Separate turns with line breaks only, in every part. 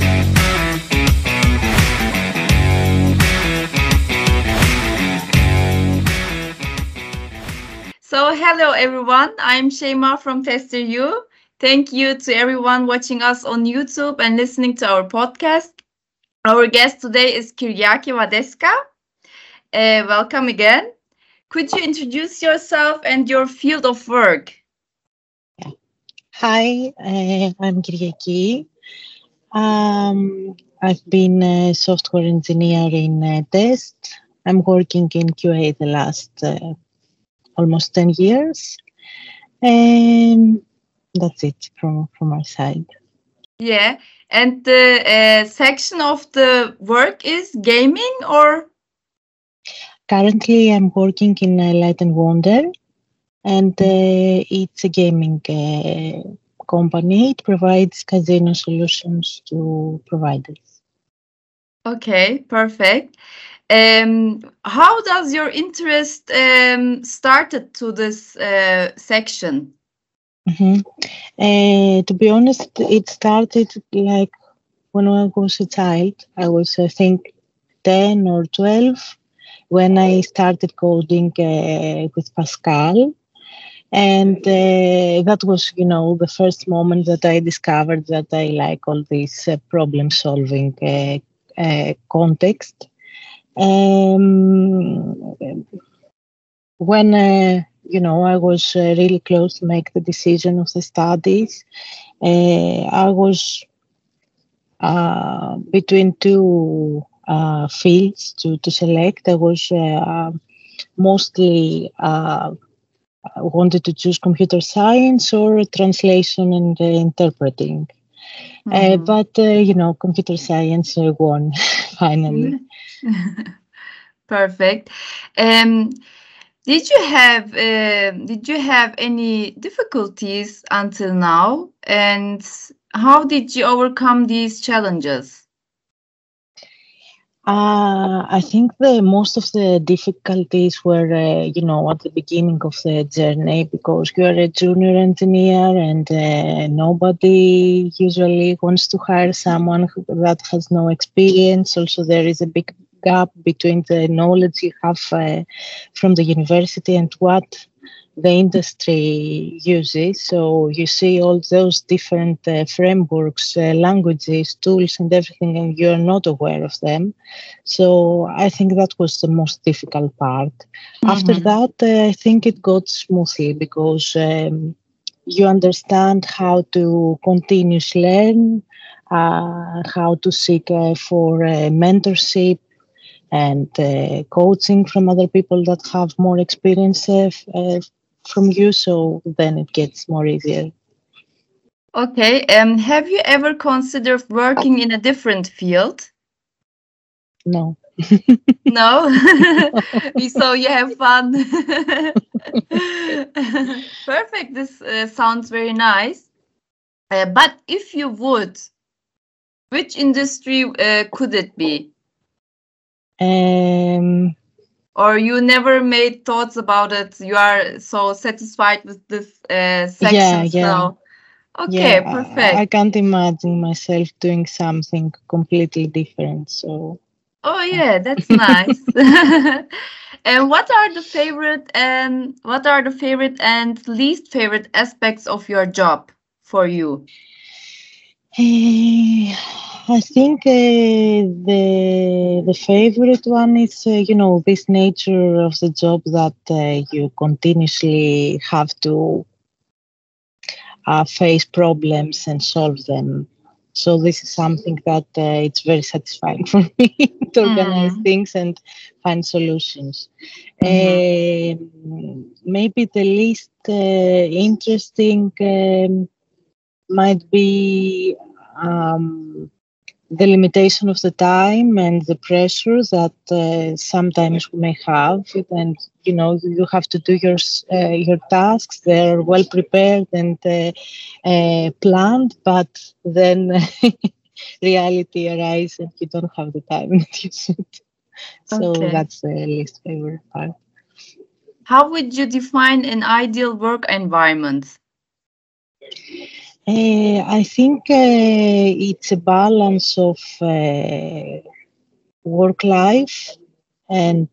So, hello everyone. I'm Şeyma from Tester U. Thank you to everyone watching us on YouTube and listening to our podcast. Our guest today is Kyriaki Vadeska. Welcome again. Could you introduce yourself and your field of work?
Hi, I'm Kyriaki. I've been a software engineer in test. I'm working in QA the last almost 10 years. And that's it from our side.
Yeah. And the section of the work is gaming or?
Currently, I'm working in Light and Wonder, and it's a gaming company. It provides casino solutions to providers.
Okay, perfect. How does your interest started to this section?
To be honest, it started like when I was a child. I was, I think, 10 or 12 when I started coding with Pascal. And that was, the first moment that I discovered that I like all this problem solving context. When I was really close to make the decision of the studies, I was between two fields to select. I was mostly wanted to choose computer science or translation and interpreting. But computer science won finally.
Perfect. Did you have any difficulties until now, and how did you overcome these challenges?
I think most of the difficulties were, at the beginning of the journey, because you are a junior engineer and nobody usually wants to hire someone that has no experience. Also, there is a big gap between the knowledge you have from the university and what the industry uses. So you see all those different frameworks, languages, tools, and everything, and you're not aware of them. So I think that was the most difficult part. After that, I think it got smoothly because you understand how to continuously learn, how to seek for mentorship and coaching from other people that have more experience from you, so then it gets more easier.
Okay. Have you ever considered working in a different field?
No.
No? So you have fun. Perfect. This sounds very nice. But if you would, which industry could it be? Or you never made thoughts about it? You are so satisfied with this section. So, okay, perfect.
I can't imagine myself doing something completely different. So.
Oh yeah, that's nice. And what are the favorite and least favorite aspects of your job for you?
I think the favorite one is this nature of the job that you continuously have to face problems and solve them. So this is something that it's very satisfying for me to organize things and find solutions. Maybe the least interesting might be the limitation of the time and the pressure that sometimes we may have, and you have to do your tasks. They're well prepared and planned, but then reality arises and you don't have the time that you should. So that's the least favorite part.
How would you define an ideal work environment?
I think it's a balance of work life and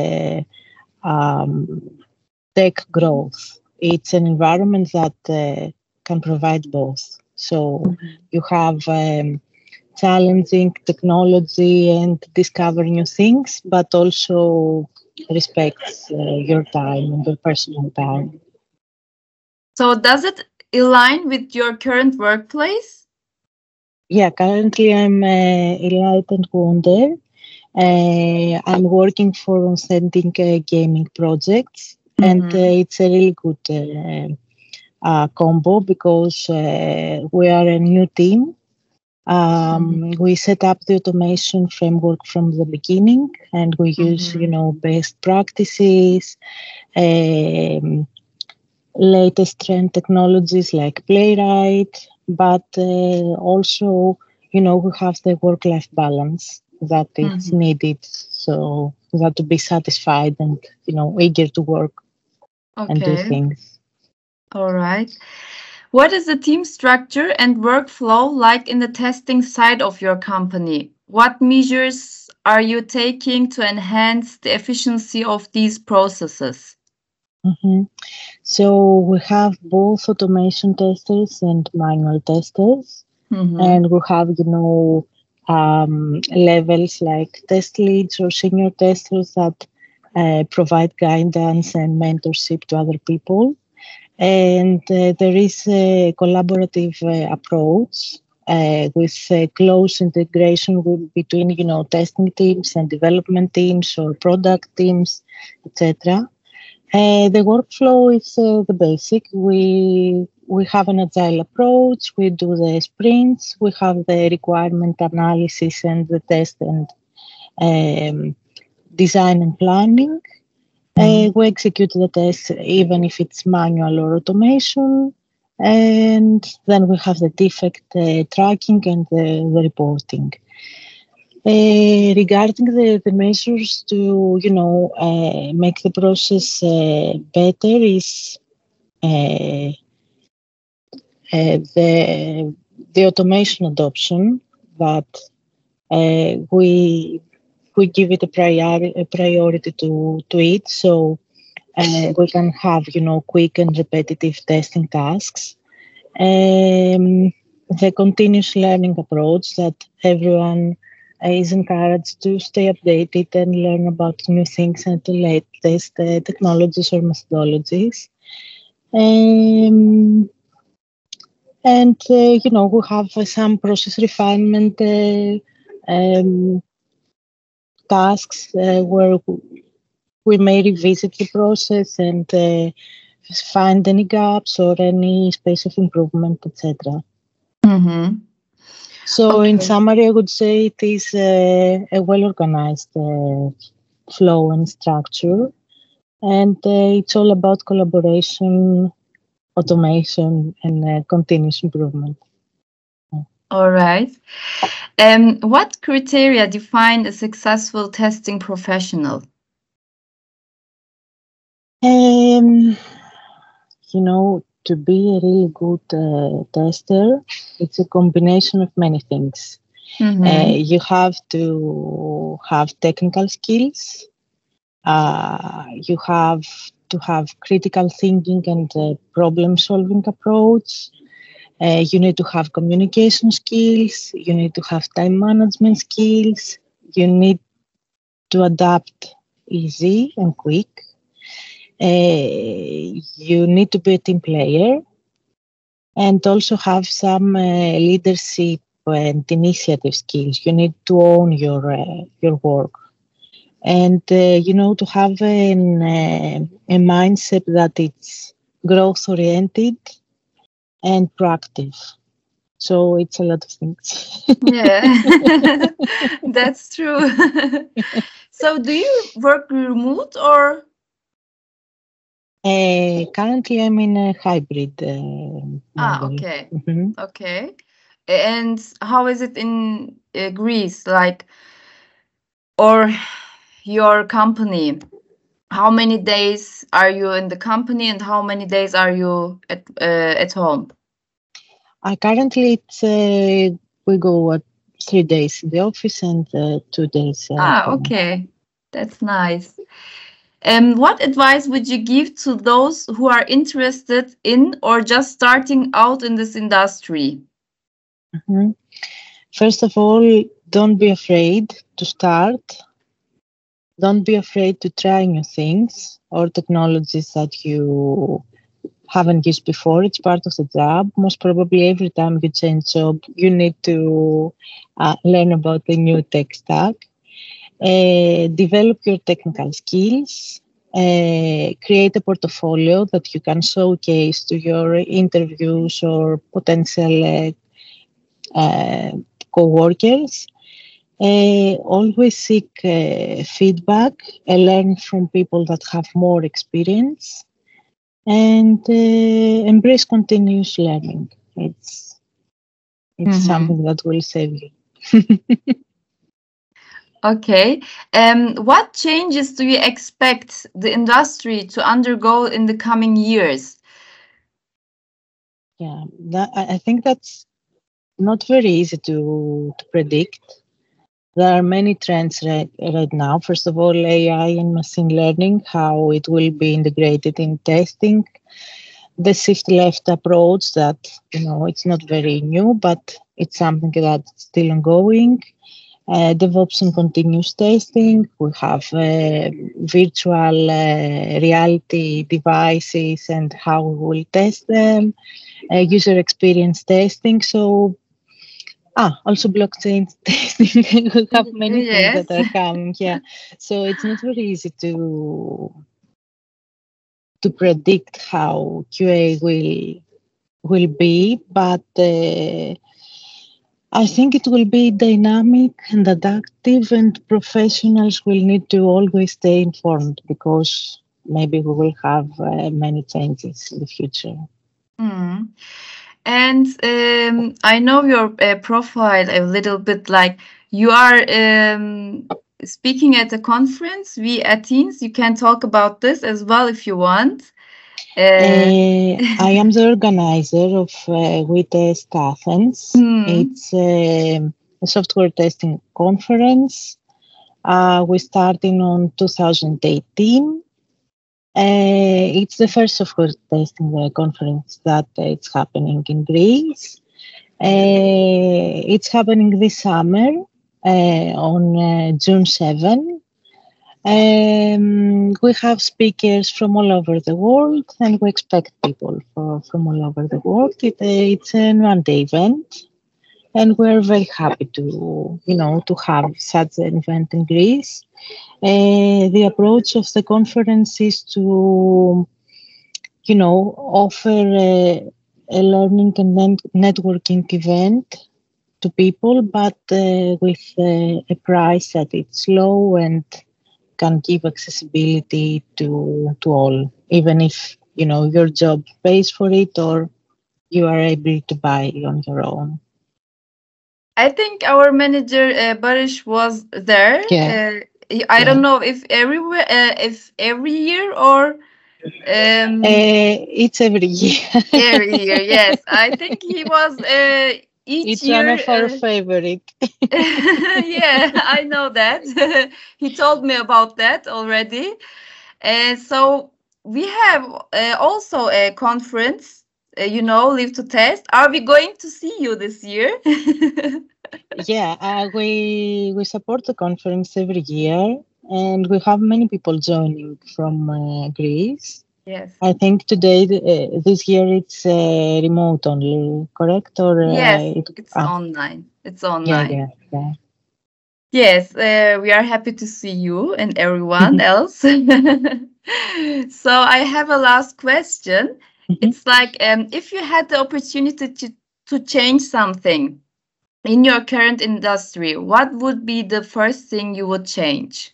um, tech growth. It's an environment that can provide both. So you have challenging technology and discover new things, but also respects your time and your personal time.
So does it align with your current workplace?
Yeah, currently I'm a light and wonder. I'm working for authentic gaming projects, and it's a really good combo because we are a new team. We set up the automation framework from the beginning, and we use, best practices, um, latest trend technologies like Playwright, but also, we have the work-life balance that is needed, so that to be satisfied and, eager to work and do
Okay.
things.
All right. What is the team structure and workflow like in the testing side of your company? What measures are you taking to enhance the efficiency of these processes?
hmm So we have both automation testers and manual testers,
Mm-hmm.
and we have, levels like test leads or senior testers that provide guidance and mentorship to other people. And there is a collaborative approach with close integration between, testing teams and development teams or product teams, etc. The workflow is the basic. We have an agile approach. We do the sprints. We have the requirement analysis and the test and um, design and planning. We execute the test even if it's manual or automation. And then we have the defect tracking and the reporting. Regarding the measures to, make the process better is uh, the automation adoption that we give it a priority to it. So we can have, quick and repetitive testing tasks. The continuous learning approach that everyone is encouraged to stay updated and learn about new things and the latest technologies or methodologies. Um, and, we have some process refinement tasks where we may revisit the process and find any gaps or any space of improvement, etc.
Mm-hmm.
So, in
Okay.
summary, I would say it is a well organized flow and structure, and it's all about collaboration, automation, and continuous improvement.
All right. What criteria define a successful testing professional?
Um, to be a really good tester, it's a combination of many things.
Mm-hmm.
You have to have technical skills. You have to have critical thinking and problem-solving approach. You need to have communication skills. You need to have time management skills. You need to adapt easy and quick. You need to be a team player and also have some leadership and initiative skills. You need to own your work, and to have a mindset that it's growth oriented and proactive. So it's a lot of things.
Yeah, that's true. So, do you work remote or?
Currently, I'm in a hybrid model.
Okay.
Mhm.
Okay. And how is it in Greece? Like, or your company? How many days are you in the company and how many days are you at home?
Currently, we go 3 days in the office and 2 days at home.
Okay. That's nice. What advice would you give to those who are interested in or just starting out in this industry?
Mhm. First of all, don't be afraid to start. Don't be afraid to try new things or technologies that you haven't used before. It's part of the job. Most probably, every time you change job, you need to learn about the new tech stack. Develop your technical skills. Create a portfolio that you can showcase to your interviews or potential co-workers. Always seek feedback and learn from people that have more experience, and embrace continuous learning. It's something that will save you.
Okay. What changes do you expect the industry to undergo in the coming years?
Yeah, I think that's not very easy to predict. There are many trends right now. First of all, AI and machine learning, how it will be integrated in testing. The shift left approach that, it's not very new, but it's something that's still ongoing. DevOps and continuous testing. We have virtual reality devices and how we will test them. User experience testing. So, also blockchain testing. We have many things
Yes.
that are coming. Yeah, so it's not very easy to predict how QA will be, but I think it will be dynamic and adaptive, and professionals will need to always stay informed because maybe we will have many changes in the future.
Mm. And I know your profile a little bit, like you are speaking at a conference, We Athens. You can talk about this as well if you want.
I am the organizer of WeTest Athens. It's a software testing conference. We started on 2018. It's the first software testing conference that it's happening in Greece. It's happening this summer on June 7. We have speakers from all over the world, and we expect people from all over the world. It's an one-day event, and we're very happy to have such an event in Greece. The approach of the conference is to, offer a learning and networking event to people, but with a price that it's low and can give accessibility to all, even if your job pays for it or you are able to buy on your own.
I think our manager Barish was there.
Yeah.
I don't know if everywhere, if every year or
it's every year.
Every year, yes. I think he was each
it's
year.
One of our favorite.
Yeah, I know that. He told me about that already. So we have also a conference, Live to Test. Are we going to see you this year?
Yeah, we support the conference every year, and we have many people joining from Greece.
Yes.
I think today, this year, it's remote only, correct? Or
yes, it's online. It's online.
Yeah.
Yes, we are happy to see you and everyone else. So I have a last question. It's like if you had the opportunity to change something in your current industry, what would be the first thing you would change?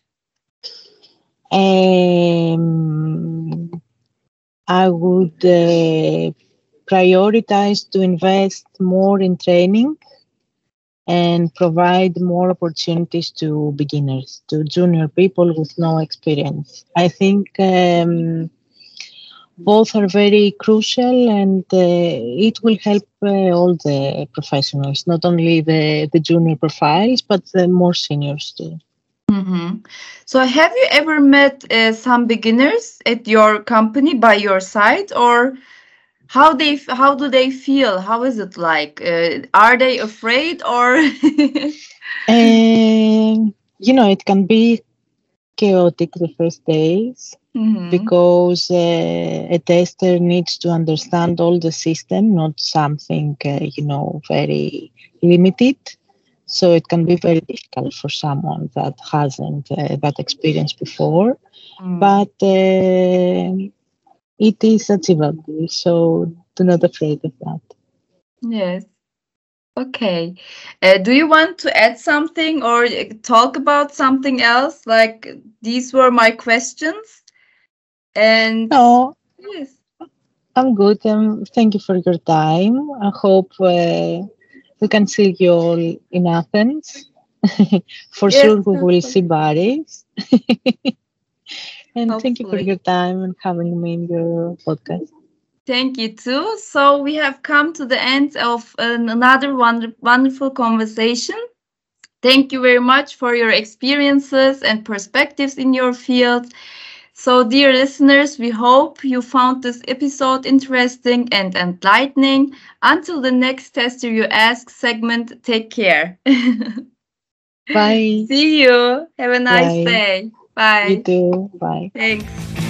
I would prioritize to invest more in training and provide more opportunities to beginners, to junior people with no experience. I think both are very crucial, and it will help all the professionals, not only the junior profiles, but the more seniors too.
Mm-hmm. So, have you ever met some beginners at your company by your side, or how do they feel? How is it like? Are they afraid or?
And it can be chaotic the first days
Mm-hmm.
because a tester needs to understand all the system, not something very limited. So it can be very difficult for someone that hasn't that experience before, but it is achievable. So do not afraid of that.
Yes. Okay. Do you want to add something or talk about something else? Like these were my questions. And
No,
yes,
I'm good. Thank you for your time. I hope we can see you all in Athens. For
yes,
sure, we will see
hopefully.
Baris. And thank you for
Hopefully.
your time and having me in your podcast.
Thank you too. So we have come to the end of another wonderful conversation. Thank you very much for your experiences and perspectives in your field. So, dear listeners, we hope you found this episode interesting and enlightening. Until the next Tester You Ask segment, take care.
Bye.
See you. Have a nice
Bye.
day.
You
Bye.
too. Bye.
Thanks.